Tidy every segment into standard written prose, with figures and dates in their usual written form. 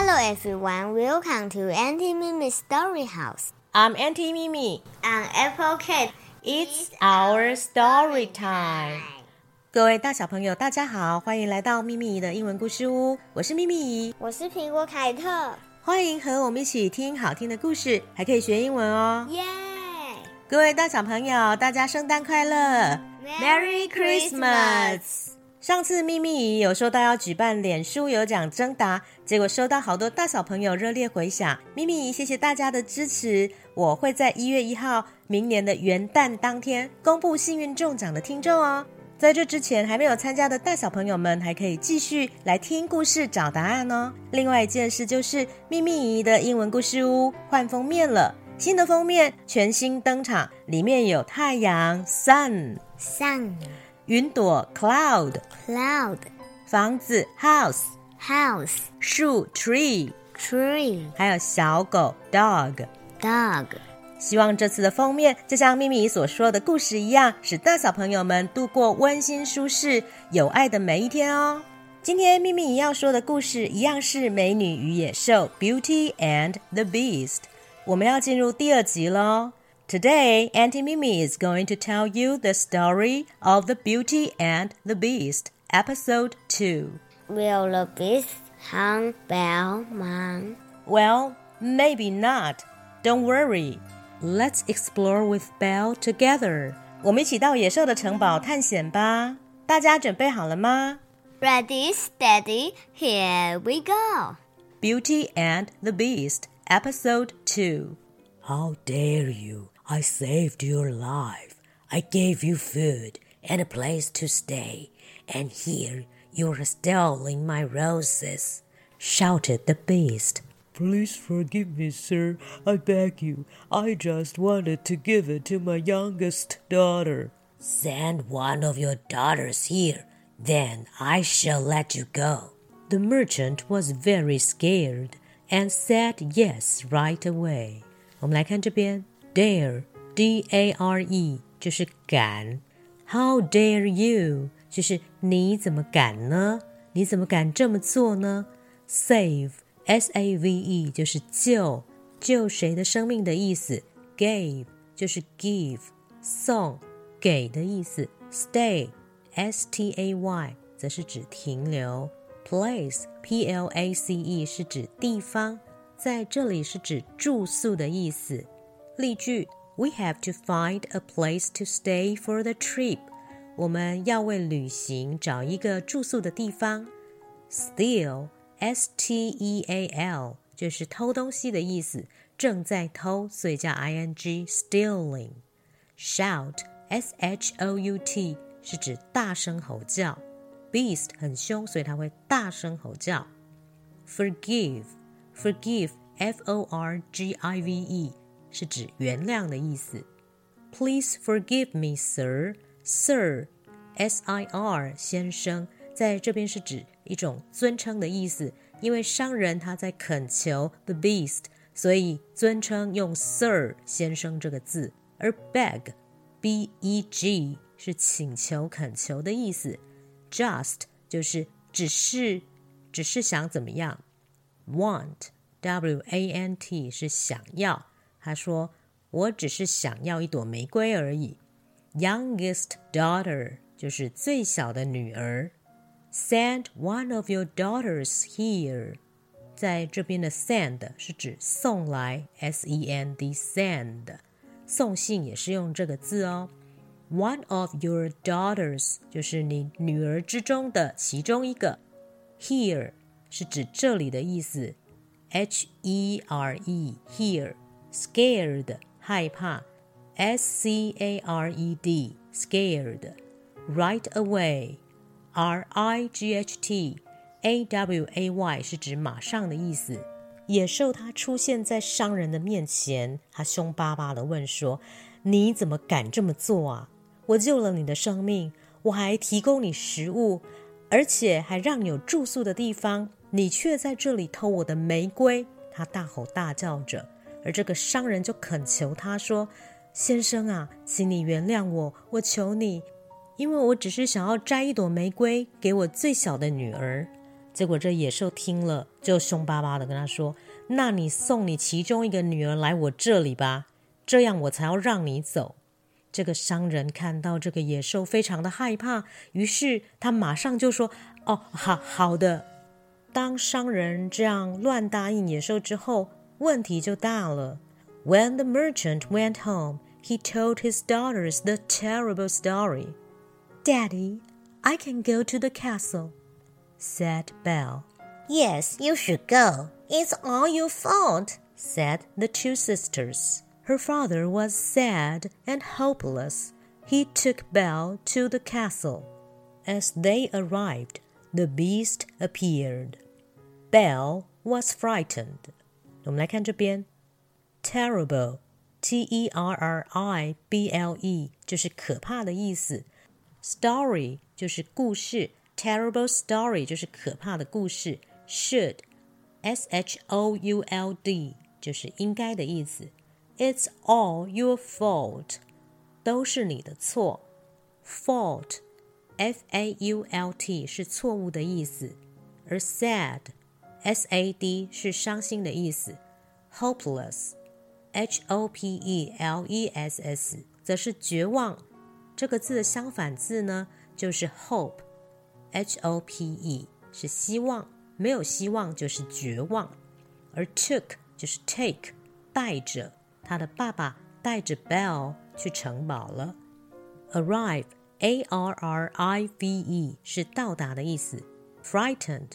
Hello everyone, welcome to Auntie Mimi's Story House. I'm Auntie Mimi. I'm Apple Cat. It's our story time. 各位大小朋友大家好，欢迎来到咪咪的英文故事屋，我是咪咪， 我是苹果凯特， 欢迎和我们一起听好听的故事，还可以学英文哦。 耶！ 各位大小朋友大家圣诞快乐 Merry Christmas！ 上次咪咪有说到要举办脸书有奖征答，结果收到好多大小朋友热烈回响，咪咪谢谢大家的支持，我会在1月1号明年的元旦当天公布幸运中奖的听众哦。在这之前还没有参加的大小朋友们还可以继续来听故事找答案哦。另外一件事就是咪咪的英文故事屋换封面了，新的封面全新登场，里面有太阳 Sun， 云朵 Cloud， 房子 House， 树 Tree， 还有小狗 Dog。希望这次的封面就像咪咪所说的故事一样，使大小朋友们度过温馨舒适有爱的每一天哦。今天咪咪要说的故事一样是美女与野兽 Beauty and the Beast， 我们要进入第2集咯。Today, Auntie Mimi is going to tell you the story of the Beauty and the Beast, episode 2. Will the beast hang Belle Mom? Well, maybe not. Don't worry.Let's explore with Belle together. 我们一起到野兽的城堡探险吧。大家准备好了吗？ Ready, steady, here we go. Beauty and the Beast, Episode 2. How dare you? I saved your life. I gave you food and a place to stay. And here you're stealing my roses, shouted the beast.Please forgive me, sir. I beg you. I just wanted to give it to my youngest daughter. Send one of your daughters here. Then I shall let you go. The merchant was very scared and said yes right away. 我们来看这边 Dare, D-A-R-E 就是敢 How dare you 就是你怎么敢呢？你怎么敢这么做呢？ Save S-A-V-E 就是救谁的生命的意思， Gave 就是 give 送给的意思， Stay S-T-A-Y 则是指停留， Place P-L-A-C-E 是指地方，在这里是指住宿的意思。例句 We have to find a place to stay for the trip 我们要为旅行找一个住宿的地方。 Steal S-T-E-A-L 就是偷东西的意思，正在偷，所以叫 ing stealing。 Shout S-H-O-U-T 是指大声吼叫， Beast 很凶，所以它会大声吼叫。 Forgive F-O-R-G-I-V-E 是指原谅的意思。 Please forgive me, sir Sir S-I-R 先生在这边是指一种尊称的意思，因为商人他在恳求 the beast， 所以尊称用 Sir 先生这个字。而 beg B-E-G 是请求恳求的意思， Just 就是只是想怎么样， Want W-A-N-T 是想要，他说我只是想要一朵玫瑰而已。 Youngest daughter 就是最小的女儿。Send one of your daughters here 在这边的 send 是指送来 S-E-N-D send 送信也是用这个字哦。 One of your daughters 就是你女儿之中的其中一个。 Here 是指这里的意思， H-E-R-E here Scared 害怕 S-C-A-R-E-D Scared Right away R-I-G-H-T-A-W-A-Y 是指马上的意思。野兽它出现在商人的面前，它凶巴巴地问说，你怎么敢这么做啊？我救了你的生命，我还提供你食物，而且还让你有住宿的地方，你却在这里偷我的玫瑰。他大吼大叫着，而这个商人就恳求他说，先生啊，请你原谅我，我求你，因为我只是想要摘一朵玫瑰给我最小的女儿。 结果这野兽听了就凶巴巴的跟他说，那你送你其中一个女儿来我这里吧，这样我才要让你走。这个商人看到这个野兽非常的害怕，于是他马上就说，好的。当商人这样乱答应野兽之后，问题就大了。When the merchant went home, he told his daughters the terrible story. Daddy, I can go to the castle, said Belle. Yes, you should go. It's all your fault, said the two sisters. Her father was sad and hopeless. He took Belle to the castle. As they arrived, the beast appeared. Belle was frightened. 我们来看这边 Terrible, T-E-R-R-I-B-L-E 就是可怕的意思， Story 就是故事， Terrible story 就是可怕的故事， Should, S-H-O-U-L-D 就是应该的意思， It's all your fault 都是你的错， Fault, F-A-U-L-T 是错误的意思，而 sad, S-A-D 是伤心的意思， Hopeless, H-O-P-E-L-E-S-S 则是绝望，这个字的相反字呢就是 hope, H-O-P-E 是希望，没有希望就是绝望，而 took 就是 take 带着，他的爸爸带着 Belle 去城堡了。 Arrive, A-R-R-I-V-E 是到达的意思， Frightened,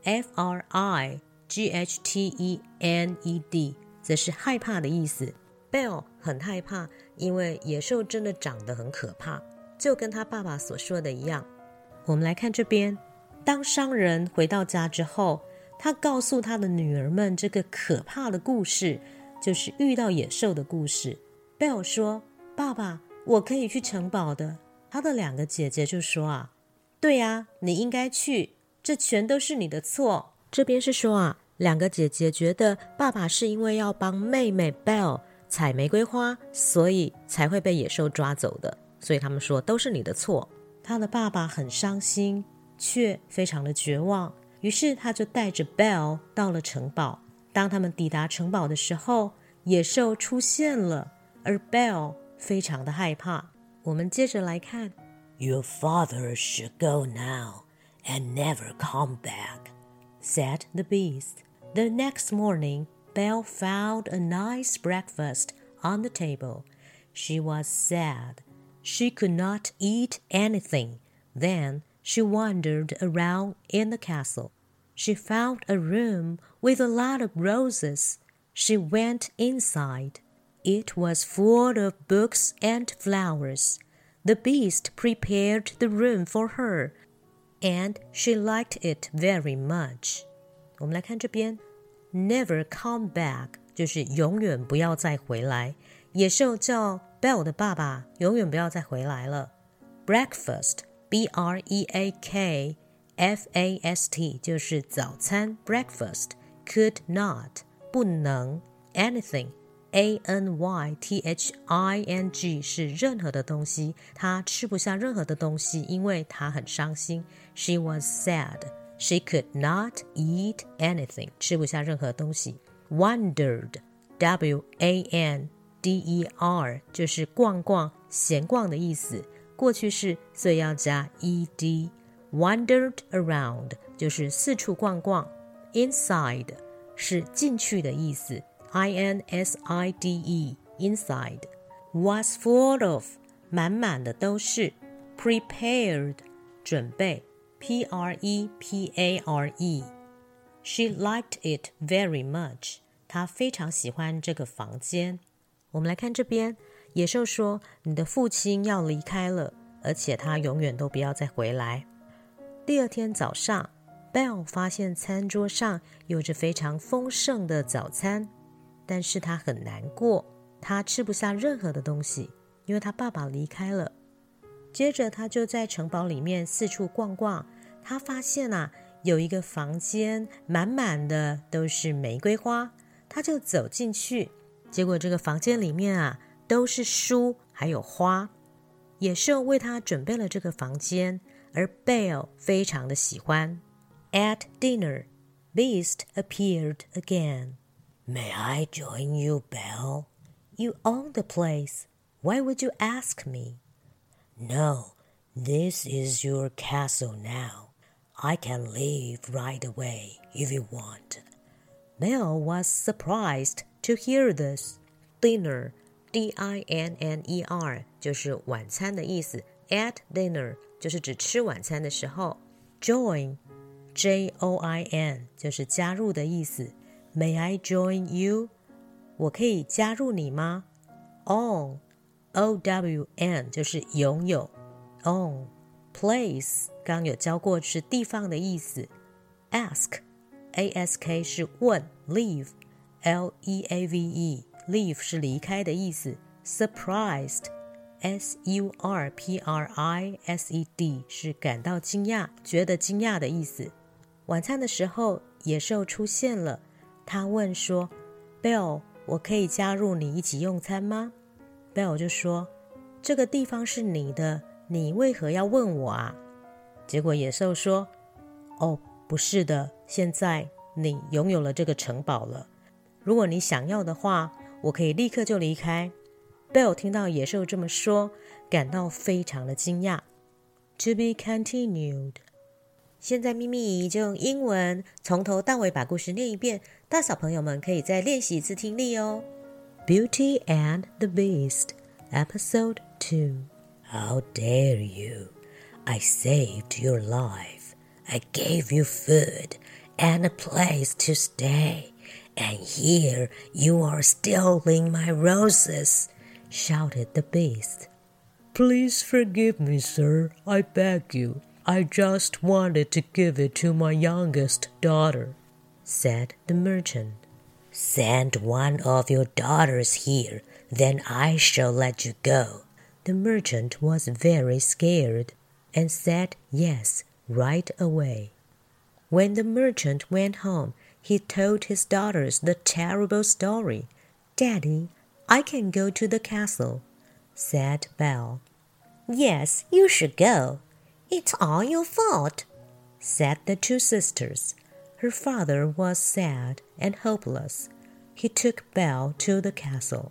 F-R-I-G-H-T-E-N-E-D 则是害怕的意思。 Belle 很害怕，因为野兽真的长得很可怕，就跟他爸爸所说的一样。我们来看这边，当商人回到家之后，他告诉他的女儿们这个可怕的故事，就是遇到野兽的故事。 Belle 说，爸爸，我可以去城堡的。他的两个姐姐就说，对啊，你应该去，这全都是你的错。这边是说两个姐姐觉得爸爸是因为要帮妹妹 Belle 采玫瑰花，所以才会被野兽抓走的，所以他们说都是你的错。他的爸爸很伤心，却非常的绝望，于是他就带着 Belle 到了城堡。当他们抵达城堡的时候，野兽出现了，而 Belle 非常的害怕。我们接着来看 Your father should go now and never come back, said the beast. The next morning, Belle found a nice breakfast on the table. She was sad. She could not eat anything. Then she wandered around in the castle. She found a room with a lot of roses. She went inside. It was full of books and flowers. The beast prepared the room for her, and she liked it very much. 我们来看这边 Never come back 就是永远不要再回来，野兽叫 Belle 的爸爸永远不要再回来了。 Breakfast, B-R-E-A-K-F-A-S-T 就是早餐 Breakfast, could not 不能 anything A-N-Y-T-H-I-N-G 是任何的东西，他吃不下任何的东西，因为他很伤心。 She was sad. She could not eat anything 吃不下任何东西。 Wandered, W-A-N-D-E-R 就是逛逛闲逛的意思，过去式所以要加 ed。 Wandered around 就是四处逛逛。 Inside 是进去的意思， I-N-S-I-D-E inside。 Was full of 满满的都是。 Prepared 准备， P-R-E-P-A-R-E。 She liked it very much 她非常喜欢这个房间。我们来看这边，野兽说你的父亲要离开了，而且他永远都不要再回来。第二天早上， Belle 发现餐桌上有着非常丰盛的早餐，但是他很难过，他吃不下任何的东西，因为他爸爸离开了。接着他就在城堡里面四处逛逛，他发现有一个房间满满的都是玫瑰花，他就走进去，结果这个房间里面都是书还有花。野兽为他准备了这个房间，而 Belle 非常的喜欢。 At dinner, Beast appeared again. May I join you, Belle? You own the place. Why would you ask me? No, this is your castle now. I can leave right away if you want. Belle was surprised to hear this. Dinner, D-I-N-N-E-R 就是晚餐的意思。At dinner 就是指吃晚餐的时候。Join, J-O-I-N 就是加入的意思。May I join you? 我可以加入你吗？ Own, O-W-N 就是拥有。Own, place 刚有教过是地方的意思。Ask, A-S-K 是问。Leave, L-E-A-V-E Leave 是离开的意思。Surprised, S-U-R-P-R-I-S-E-D 是感到惊讶，觉得惊讶的意思。晚餐的时候，野兽出现了。他问说 Belle, 我可以加入你一起用餐吗？ Belle 就说，这个地方是你的，你为何要问我啊？结果野兽说，哦，不是的，现在你拥有了这个城堡了。如果你想要的话，我可以立刻就离开。Belle 听到野兽这么说，感到非常的惊讶。To be continued。 现在咪咪姨就用英文从头到尾把故事念一遍，大小朋友们可以再练习一次听力哦。Beauty and the Beast, Episode 2. How dare you? I saved your life. I gave you food and a place to stay. And here you are stealing my roses, shouted the beast. Please forgive me, sir, I beg you. I just wanted to give it to my youngest daughter, said the merchant. Send one of your daughters here, then I shall let you go. The merchant was very scared and said yes right away. When the merchant went home, he told his daughters the terrible story. Daddy, I can go to the castle, said Belle. Yes, you should go. It's all your fault, said the two sisters. Her father was sad and hopeless. He took Belle to the castle.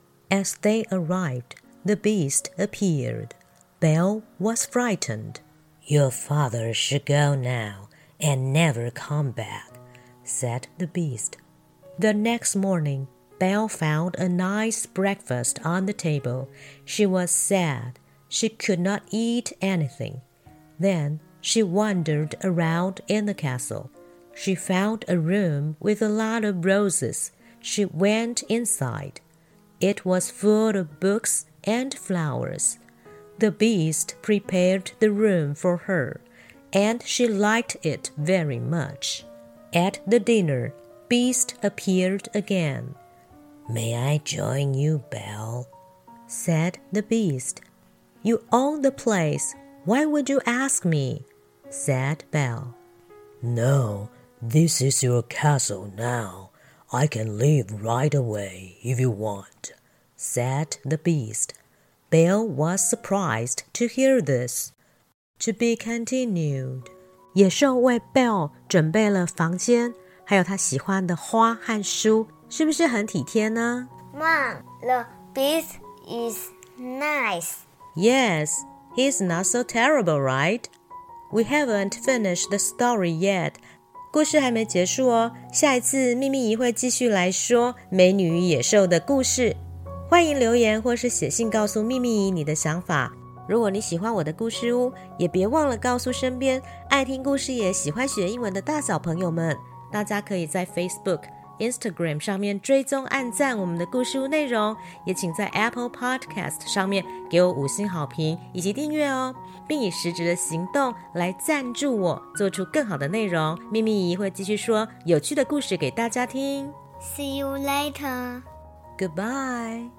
As they arrived, the beast appeared. Belle was frightened. Your father should go now and never come back, said the beast. The next morning, Belle found a nice breakfast on the table. She was sad. She could not eat anything. Then she wandered around in the castle. She found a room with a lot of roses. She went inside. It was full of books and flowers. The beast prepared the room for her, and she liked it very much. At the dinner, Beast appeared again. May I join you, Belle? Said the beast. You own the place. Why would you ask me? Said Belle. No, this is your castle now. I can leave right away if you want, said the beast. Belle was surprised to hear this. To be continued. 野兽为 Belle 准备了房间，还有他喜欢的花和书，是不是很体贴呢？ Mom, the beast is nice. Yes, he's not so terrible, right? We haven't finished the story yet. 故事还没结束哦，下一次秘密姨会继续来说美女与野兽的故事。欢迎留言或是写信告诉秘密姨你的想法。如果你喜欢我的故事屋，也别忘了告诉身边爱听故事也喜欢学英文的大小朋友们。大家可以在 Facebook、Instagram 上面追踪按赞我们的故事屋内容，也请在 Apple Podcast 上面给我5星好评以及订阅哦，并以实质的行动来赞助我做出更好的内容。秘密姨会继续说有趣的故事给大家听。 See you later. Goodbye.